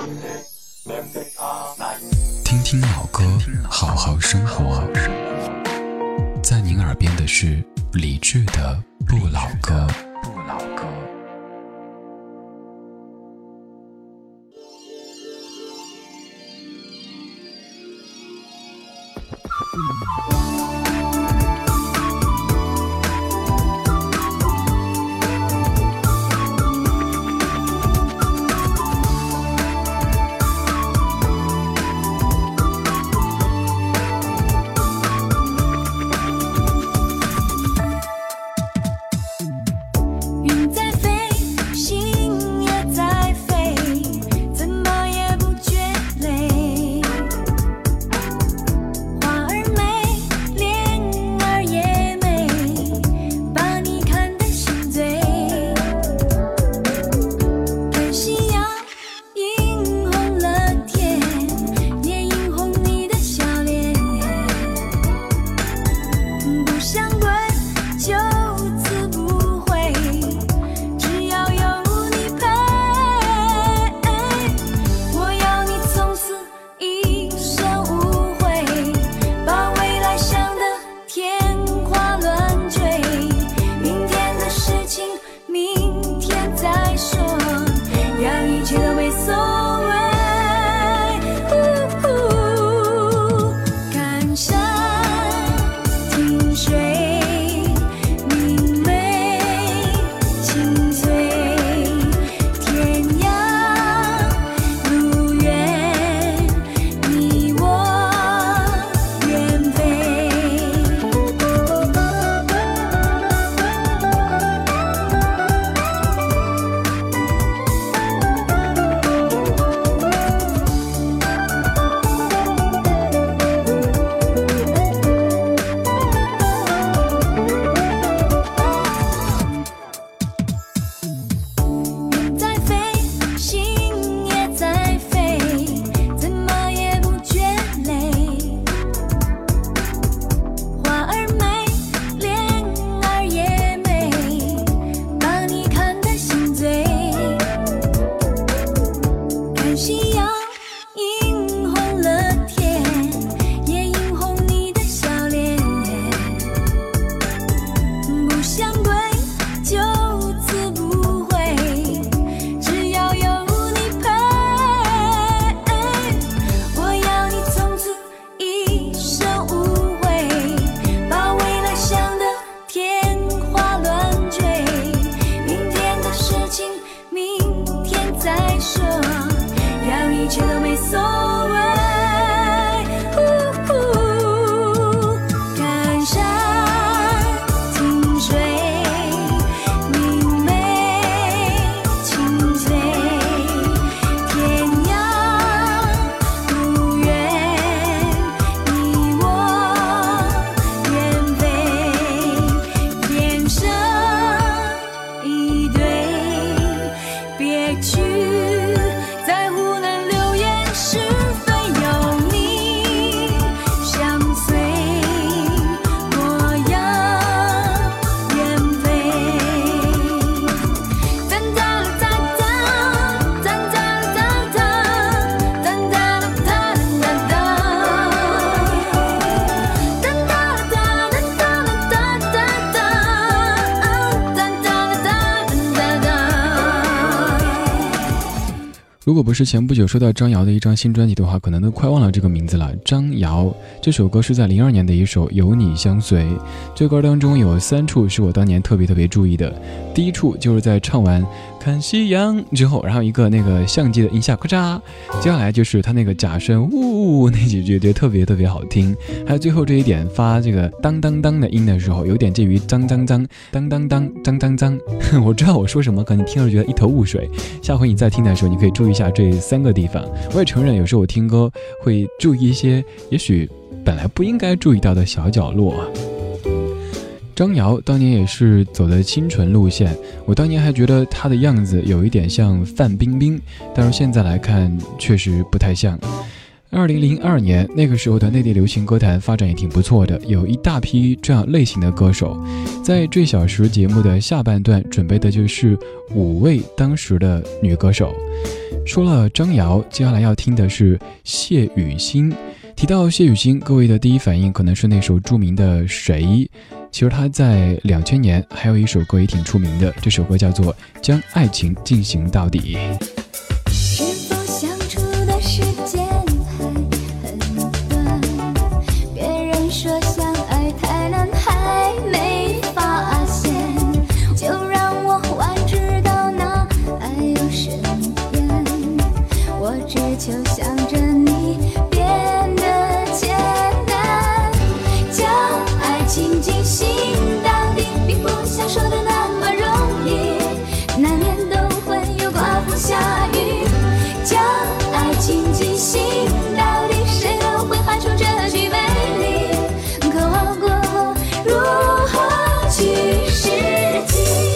听听老歌，好好生活。在您耳边的是理智的不老歌。如果不是前不久收到张瑶的一张新专辑的话，可能都快忘了这个名字了。张瑶这首歌是在02年的一首《有你相随》，这歌当中有3处是我当年特别注意的。第一处就是在唱完看夕阳之后，然后一个那个相机的音效咔嚓，接下来就是他那个假声呜那几句，觉得特别好听。还有最后这一点发这个当当当的音的时候，有点介于脏脏脏当当当脏脏脏。我知道我说什么，可能你听了觉得一头雾水，下回你再听的时候，你可以注意一下这3个地方。我也承认有时候我听歌会注意一些也许本来不应该注意到的小角落。张瑶当年也是走的清纯路线，我当年还觉得她的样子有一点像范冰冰，但是现在来看确实不太像。 2002年那个时候的内地流行歌坛发展也挺不错的，有一大批这样类型的歌手。在最小时节目的下半段准备的就是5位当时的女歌手。说了张瑶，接下来要听的是谢雨欣。提到谢雨欣，各位的第一反应可能是那首著名的谁，其实她在2000年还有一首歌也挺出名的，这首歌叫做《将爱情进行到底》。 是否相处的时间还很短，别人说相爱太难还没发现，就让我还知道那爱有深远，我只求想着你变得简单，将爱情进行到底并不像说的那么容易，难免都会有刮风下雨，将爱情进行到底，谁都会喊出这句美丽，可忘过后如何去实际。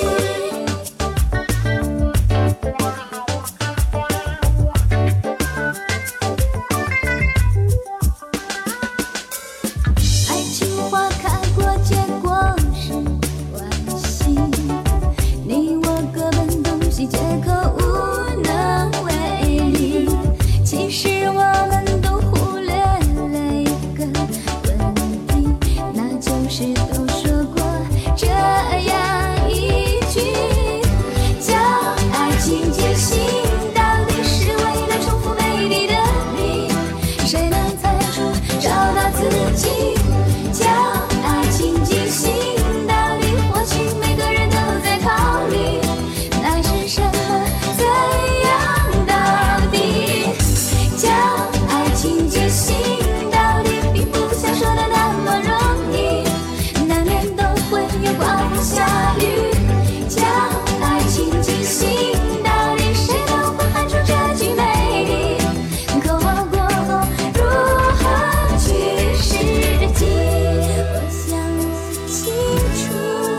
爱情花开过结果是惋惜，你我各奔东西，皆可无能为力，其实我们都忽略了一个问题，那就是都说过这样一句，将爱情进行到底是为了重复美丽的你，谁能猜出找到自己，将爱情进行到底，或许每个人都在考虑爱是什么怎样到底，将爱情进行到底并不像说的那么容易，难免都会有刮风下雨，将爱情进行到底，谁都会喊出这句美丽，可忘过后如何去实际，我想清楚，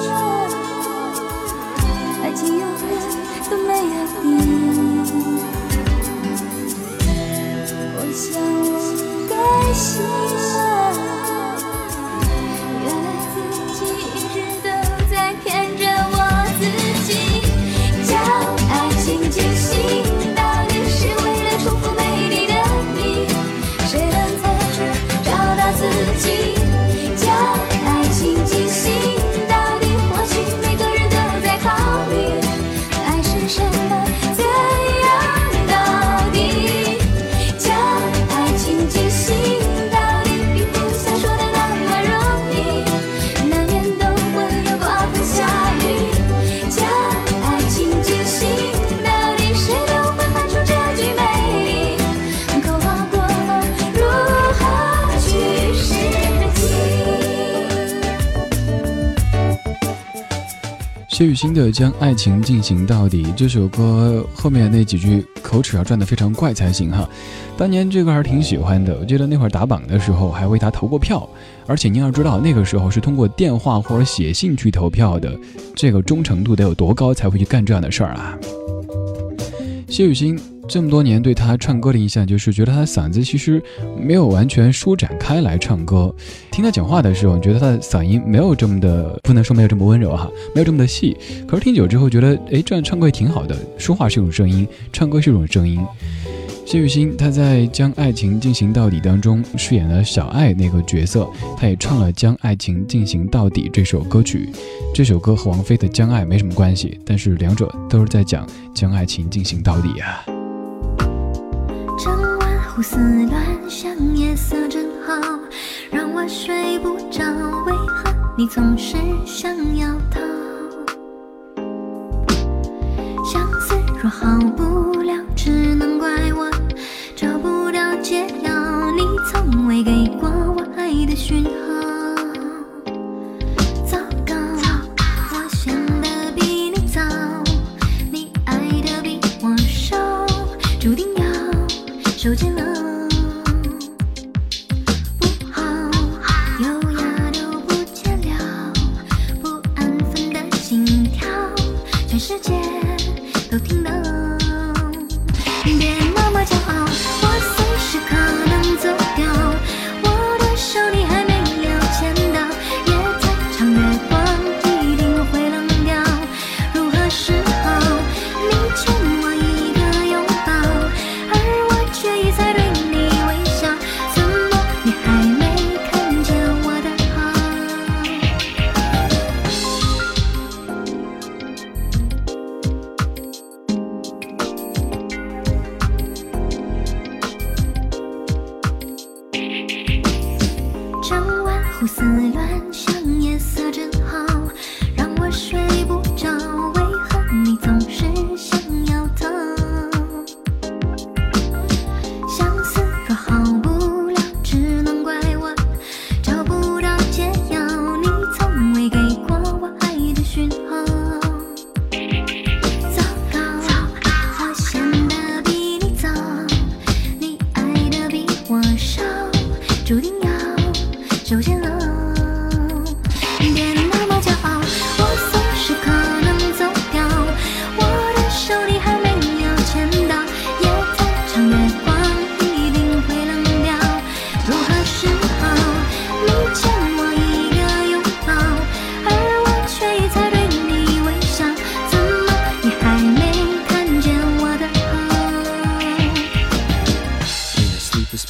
爱情永远都没有底，我想我该醒了，原来自己一直都在骗着我自己，将爱情进行到底是为了重复美丽的你，谁能猜出找到自己，将爱情进行到底，或许每个人都在考虑爱是什么怎样到底，将爱情进行到底并不像说的那么容易，难免都会有刮风下雨，将爱情进行到底，谁都会喊出这句美丽，可忘过后如何去实际。 谢雨欣的《将爱情进行到底》这首歌后面那几句口齿要转得非常怪才行哈。当年这个还是挺喜欢的，我记得那会儿打榜的时候还为他投过票，而且您要知道那个时候是通过电话或者写信去投票的，这个忠诚度得有多高才会去干这样的事儿啊。谢雨欣这么多年对他唱歌的印象就是觉得他的嗓子其实没有完全舒展开来唱歌，听他讲话的时候觉得他的嗓音没有这么的，不能说没有这么温柔哈，没有这么的细，可是听久之后觉得这样唱歌也挺好的，说话是一种声音，唱歌是一种声音。谢雨欣她在《将爱情进行到底》当中饰演了小爱那个角色，她也唱了《将爱情进行到底》这首歌曲。这首歌和王菲的《将爱》没什么关系，但是两者都是在讲将爱情进行到底啊。 整晚胡思乱想，夜色真好，让我睡不着，为何你总是想要逃？相思若好不了，只能怪我找不到解药，你从未给过我爱的讯号。糟糕，我想的比你早，你爱的比我少，注定要受尽了。不好，优雅都不见了，不安分的心跳，全世界都听到。别那么骄傲，我随时可能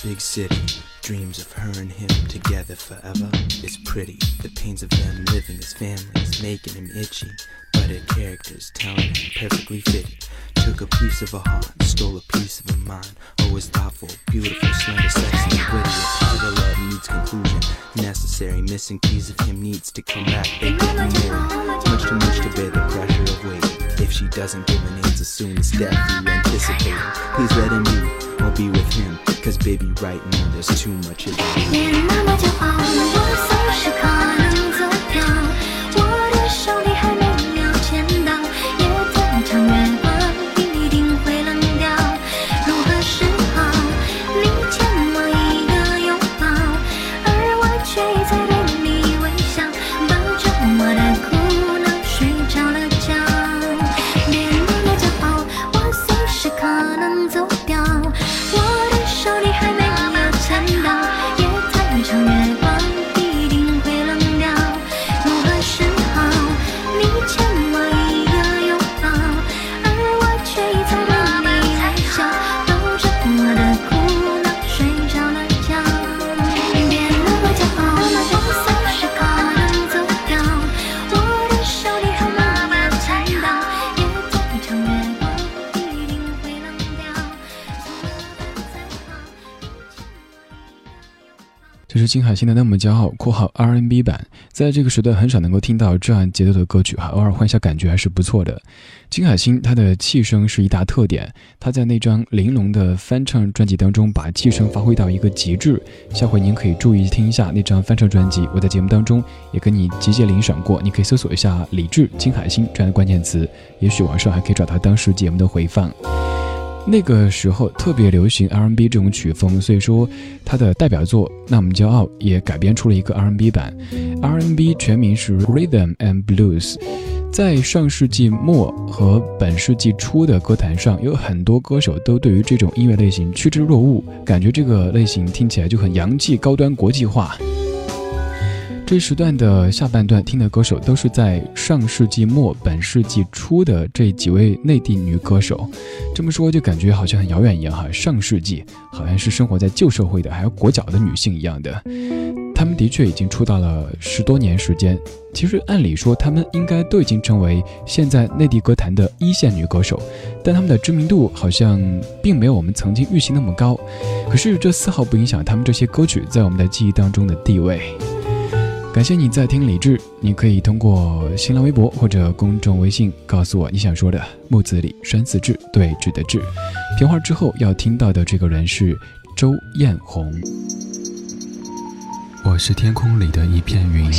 big city, dreams of her and him together forever. It's pretty, the pains of them living as families, making him itchy. But her character's talent and perfectly fitted. Took a piece of a heart, stole a piece of a mind. Always thoughtful, beautiful, slender, sexy, and witty. A part of love needs conclusion, necessary. Missing piece of him needs to come back. They couldn't more, much too much to bear the pressure of waiting. If she doesn't give an answer soon as death you anticipating, please let him be or be with him. Cause baby right now there's too much of you. 连那么骄傲，我随时可能走掉，我的手里还没有牵到，也在场月光一定会冷掉。如何是好？你欠我一个拥抱，而我却一再对你微笑，抱着我的苦恼睡着了觉。别那么骄傲，我随时可能走掉，我的手里还没有牵到，也在场月光一定会冷掉。如何是好？你欠我一个拥抱，而我却一再对你微笑，抱着我的苦恼睡着了觉。别那么骄傲，我随时可能走掉，我的手里还没有牵到，也在场月光一定会冷掉。 这是金海心的《那么骄傲》（括号 R&B 版）。在这个时代很少能够听到这样节奏的歌曲，偶尔换一下感觉还是不错的。金海心她的气声是一大特点，她在那张玲珑的翻唱专辑当中把气声发挥到一个极致。下回您可以注意听一下那张翻唱专辑，我在节目当中也跟你集结领赏过，你可以搜索一下李志、金海心这样的关键词，也许网上还可以找到当时节目的回放。那个时候特别流行 R&B 这种曲风，所以说他的代表作《那么骄傲》也改编出了一个 R&B 版。R&B 全名是 Rhythm and Blues。在上世纪末和本世纪初的歌坛上，有很多歌手都对于这种音乐类型趋之若鹜，感觉这个类型听起来就很洋气、高端、国际化。这时段的下半段听的歌手都是在上世纪末本世纪初的这几位内地女歌手，这么说就感觉好像很遥远一样哈，上世纪好像是生活在旧社会的还有裹脚的女性一样的。她们的确已经出道了10多年时间，其实按理说她们应该都已经成为现在内地歌坛的一线女歌手，但她们的知名度好像并没有我们曾经预期那么高，可是这丝毫不影响她们这些歌曲在我们的记忆当中的地位。感谢你在听理智，你可以通过新浪微博或者公众微信告诉我你想说的。木子李山寺志，对峙的志。片花之后要听到的这个人是周艳红。我是天空里的一片云，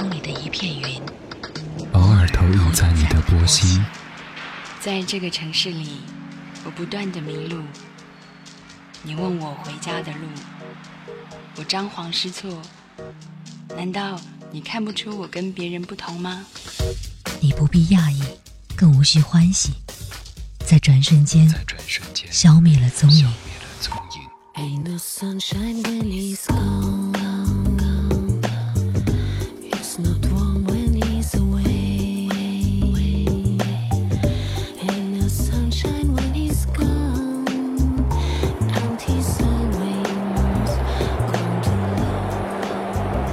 偶尔投影在你的波心。 在这个城市里，我不断地迷路。你问我回家的路，我张皇失措。难道你看不出我跟别人不同吗？ 你不必讶异，更无需欢喜，在转瞬间消灭了踪影。 Ain't no sunshine when he's gone. It's not warm when he's away. Ain't no sunshine when he's gone. And he's always gone too long.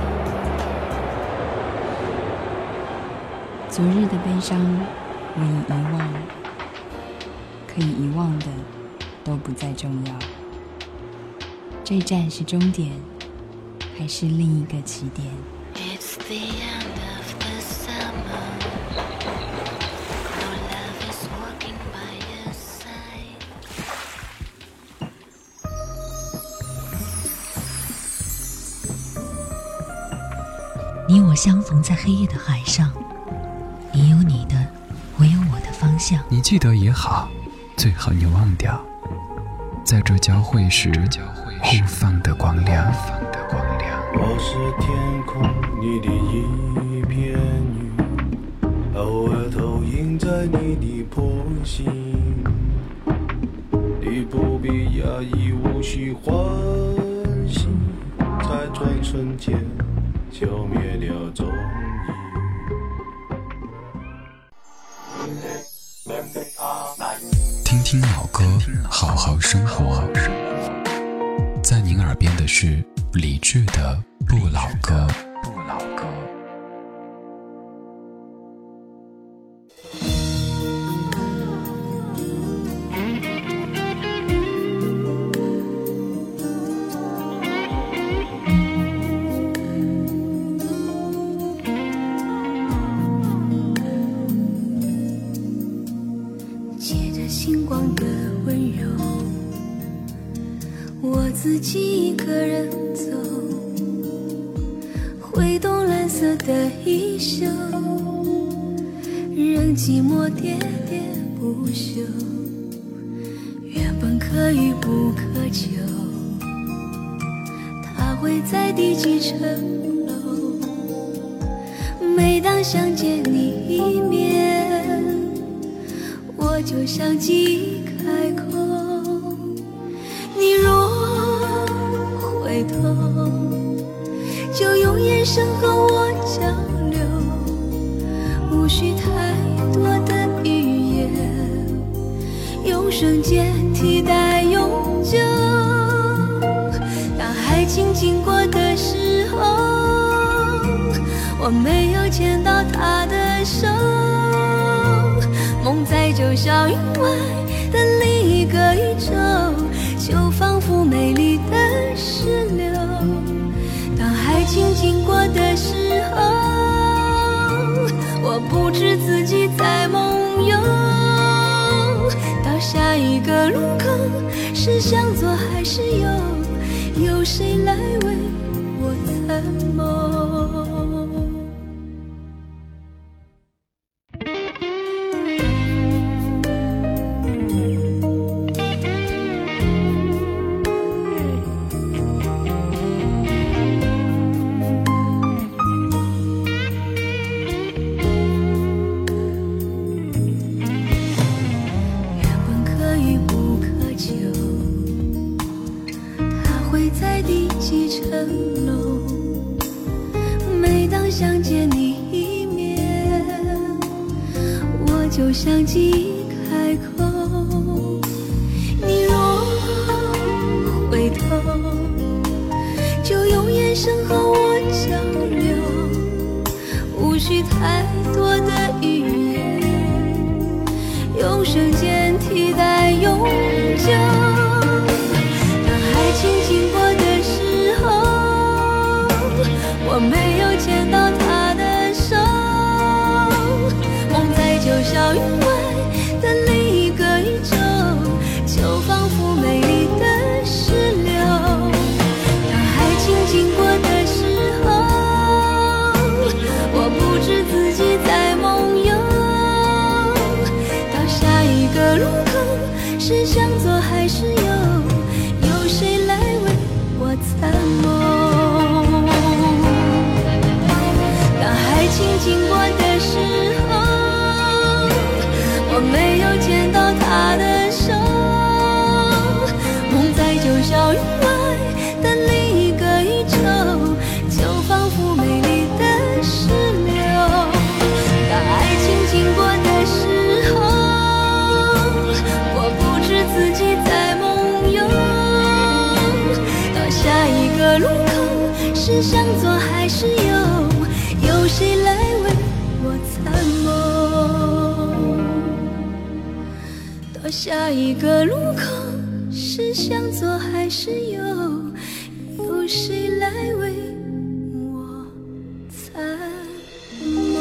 昨日的悲伤我已遗忘，可以遗忘的都不再重要。这站是终点，还是另一个起点？ It's the end of the summer. No love is walking by your side. 你我相逢在黑夜的海上，你有你的，我有我的方向。 你记得也好，最好你忘掉，在这交汇时互放的光亮。 我是天空里的一片云，偶尔投影在你的波心。你不必讶异，无需欢喜，在转瞬间消灭了踪影。 听听老歌，好好生活。在您耳耳边的是李志的《不老歌》。 借着星光的温柔，我自己一个人走，挥动蓝色的衣袖，任寂寞喋喋不休。原本可遇不可求，它会在第几层楼？每当想见你一面，我就像记忆开口。你若回头，就用眼神和我交流，无需太多的语言，用瞬间替代永久。当爱情经过的时候，我没有牵到他的手，梦在九霄云外的另一个宇宙，就仿佛美丽的石榴。当爱情经过的时候，我不知自己在梦游。到下一个路口，是向左还是右？有谁来为我参谋？每当想见你一面，我就像记忆开口。你若回头，就用眼神和我交流，无需太多的语言，用瞬间替代永久。当爱情经过的时候，我没有牵到他的手，梦在九霄云外的另一个宇宙，就仿佛美丽的石榴。当爱情经过的时候，我不知自己在梦游。到下一个路口，是向左还是右？有谁来为我参谋？爱情经过的时候，我没有牵到他的手，梦在九霄云外的另一个宇宙，就仿佛美丽的石榴。当爱情经过的时候，我不知自己在梦游。到下一个路口，是向左还是右？有谁来为我参谋？到下一个路口，是向左还是右？有谁来为我参谋？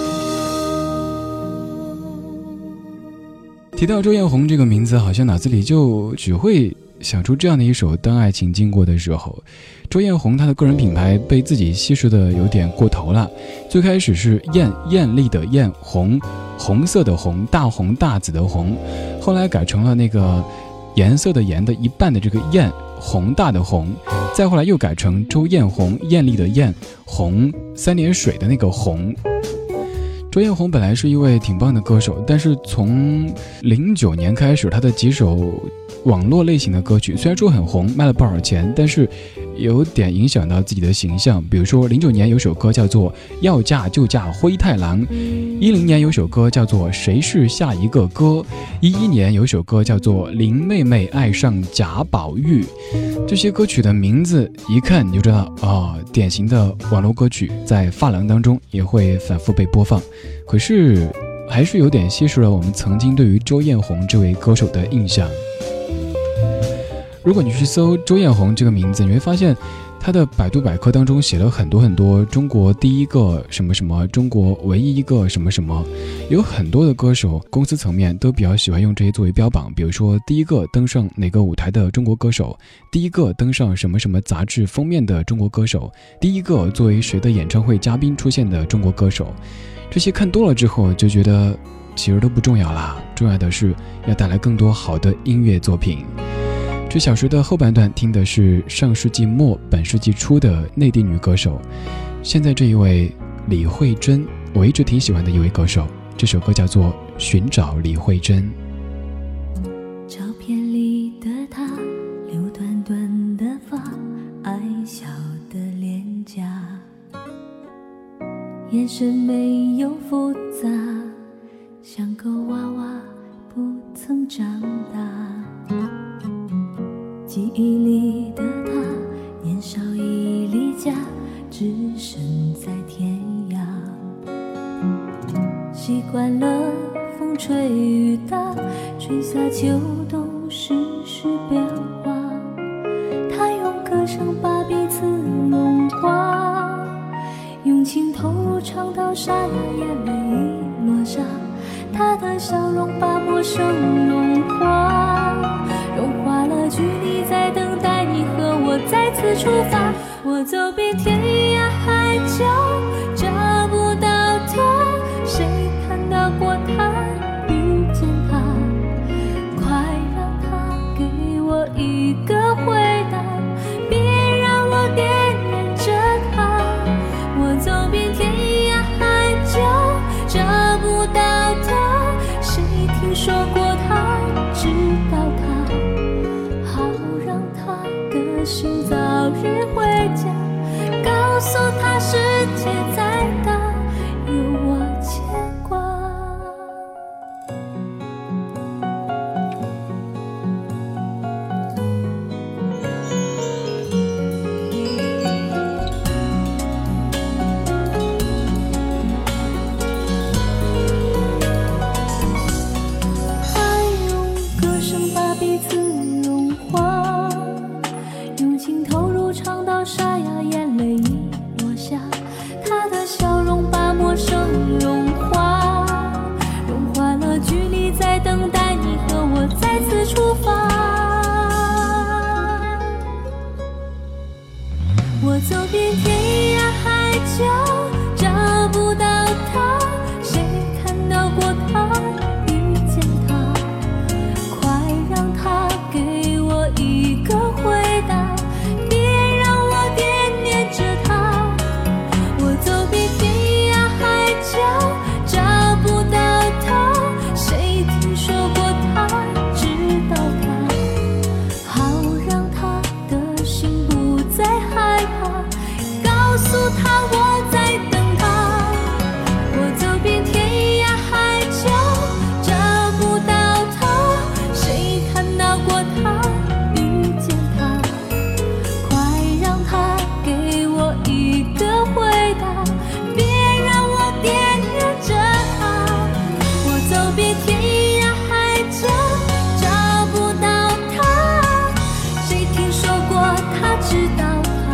提到周艳红这个名字，好像脑子里就只会想出这样的一首《当爱情经过的时候》。周艳红她的个人品牌被自己稀释的有点过头了，最开始是艳丽的艳，红色的红，大红大紫的红，后来改成了那个颜色的颜的一半的这个艳，宏大的宏，再后来又改成周艳红，艳丽的艳，红三点水的那个红。周艳红本来是一位挺棒的歌手，但是从09年开始，她的几首网络类型的歌曲虽然说很红，卖了不少钱，但是有点影响到自己的形象。比如说09年有首歌叫做《要嫁就嫁灰太狼》，10年有首歌叫做《谁是下一个歌》，11年有首歌叫做《林妹妹爱上贾宝玉》。 这些歌曲的名字一看你就知道典型的网络歌曲，在发廊当中也会反复被播放。可是还是有点稀释了我们曾经对于周艳红这位歌手的印象。如果你去搜周艳红这个名字，你会发现他的百度百科当中写了很多很多中国第一个什么什么，中国唯一一个什么什么，有很多的歌手公司层面都比较喜欢用这些作为标榜，比如说第一个登上哪个舞台的中国歌手，第一个登上什么什么杂志封面的中国歌手，第一个作为谁的演唱会嘉宾出现的中国歌手。这些看多了之后就觉得其实都不重要啦，重要的是要带来更多好的音乐作品。这小时的后半段听的是上世纪末本世纪初的内地女歌手，现在这一位李慧珍，我一直挺喜欢的一位歌手，这首歌叫做《寻找李慧珍》。 照片里的她留短短的发，矮小的脸颊，眼神没有复杂，像个娃娃不曾长大。记忆里的她年少已离家，只身在天涯，习惯了风吹雨打，春夏秋冬世事变化，她用歌声把彼此融化，用情投入唱到沙哑，眼泪已落下，她的笑容把陌生融化，融化了距离，在等待你和我再次出发。我走遍天涯海角找不到他，谁看到过他，遇见他，快让他给我一个回答，别让我惦念着他。我走遍天涯海角找不到他，谁听说过他，知道他，好让他的心早日回家，告诉他世界再大，有我牵挂。我走遍天涯海角找不到他，谁看到过他，遇见他，快让他给我一个回答，别让我惦念着他。我走遍天涯海角找不到他，谁听说过他，知道他，好让他的心不再害怕，告诉他我在等他。我走遍天涯海角找不到他，谁看到过他，遇见他，快让他给我一个回答，别让我惦念着他。我走遍天涯海角找不到他，谁听说过他，知道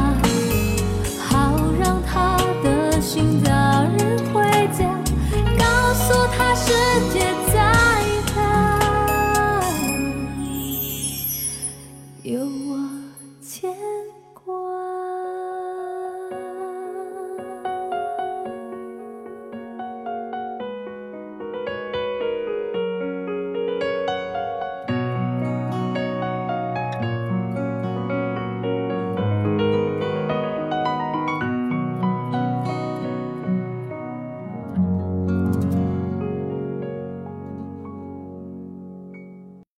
心早日回家，告诉他世界再大，有我牵